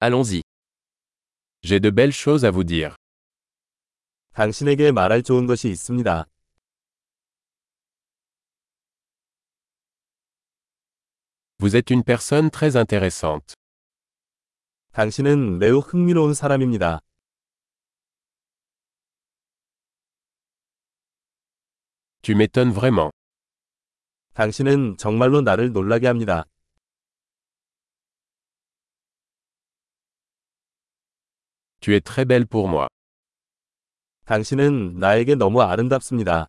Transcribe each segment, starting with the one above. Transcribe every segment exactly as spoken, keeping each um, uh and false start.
Allons-y. J'ai de belles choses à vous dire. 당신에게 말할 좋은 것이 있습니다. Vous êtes une personne très intéressante. 당신은 매우 흥미로운 사람입니다. Tu m'étonnes vraiment. 당신은 정말로 나를 놀라게 합니다. Tu es très belle pour moi. 당신은 나에게 너무 아름답습니다.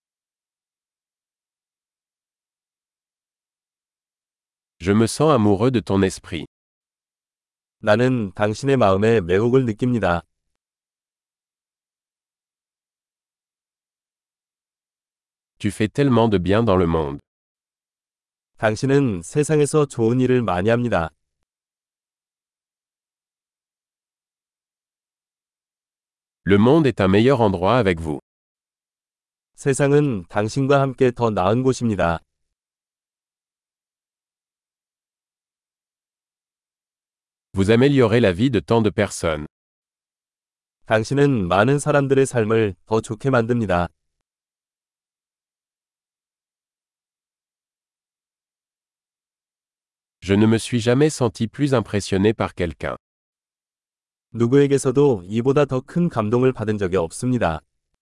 Je me sens amoureux de ton esprit. 나는 당신의 마음에 매혹을 느낍니다. Tu fais tellement de bien dans le monde. 당신은 세상에서 좋은 일을 많이 합니다. Le monde est un meilleur endroit avec vous. 세상은 당신과 함께 더 나은 곳입니다. Vous améliorez la vie de tant de personnes. 당신은 많은 사람들의 삶을 더 좋게 만듭니다. Je ne me suis jamais senti plus impressionné par quelqu'un. 누구에게서도 이보다 더 큰 감동을 받은 적이 없습니다.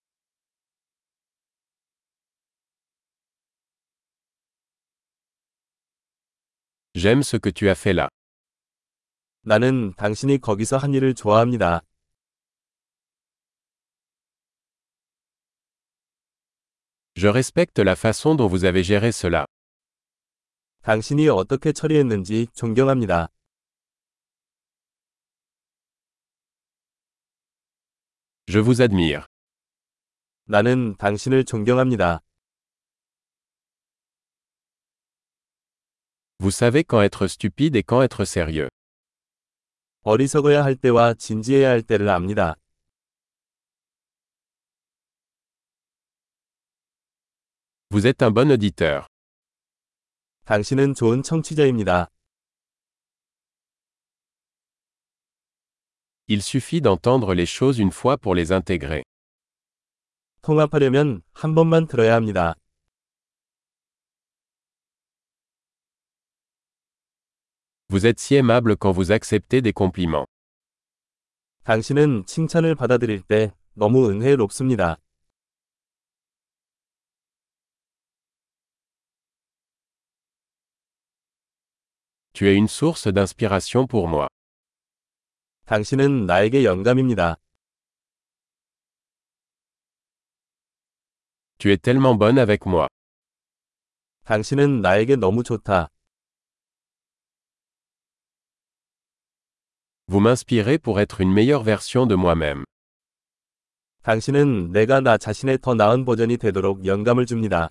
J'aime ce que tu as fait là. 나는 당신이 거기서 한 일을 좋아합니다. Je respecte la façon dont vous avez géré cela. 당신이 어떻게 처리했는지 존경합니다. Je vous admire. 나는 당신을 존경합니다. Vous savez quand être stupide et quand être sérieux. 어리석어야 할 때와 진지해야 할 때를 압니다. Vous êtes un bon auditeur. 당신은 좋은 청취자입니다. Il suffit d'entendre les choses une fois pour les intégrer. 통합하려면 한 번만 들어야 합니다. Vous êtes si aimable quand vous acceptez des compliments. 당신은 칭찬을 받아들일 때 너무 은혜롭습니다. Tu es une source d'inspiration pour moi. 당신은 나에게 영감입니다. Tu es tellement bonne avec moi. 당신은 나에게 너무 좋다. Vous m'inspirez pour être une meilleure version de moi-même. 당신은 내가 나 자신의 더 나은 버전이 되도록 영감을 줍니다.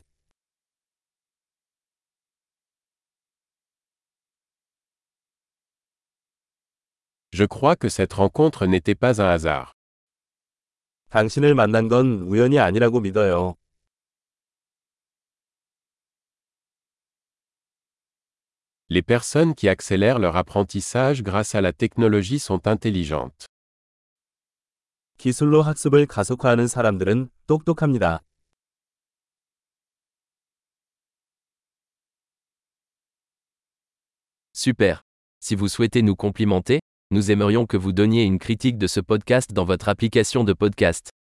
Je crois que cette rencontre n'était pas un hasard. 당신을 만난 건 우연이 아니라고 믿어요. Les personnes qui accélèrent leur apprentissage grâce à la technologie sont intelligentes. 기술로 학습을 가속화하는 사람들은 똑똑합니다. Super. Si vous souhaitez nous complimenter, nous aimerions que vous donniez une critique de ce podcast dans votre application de podcast.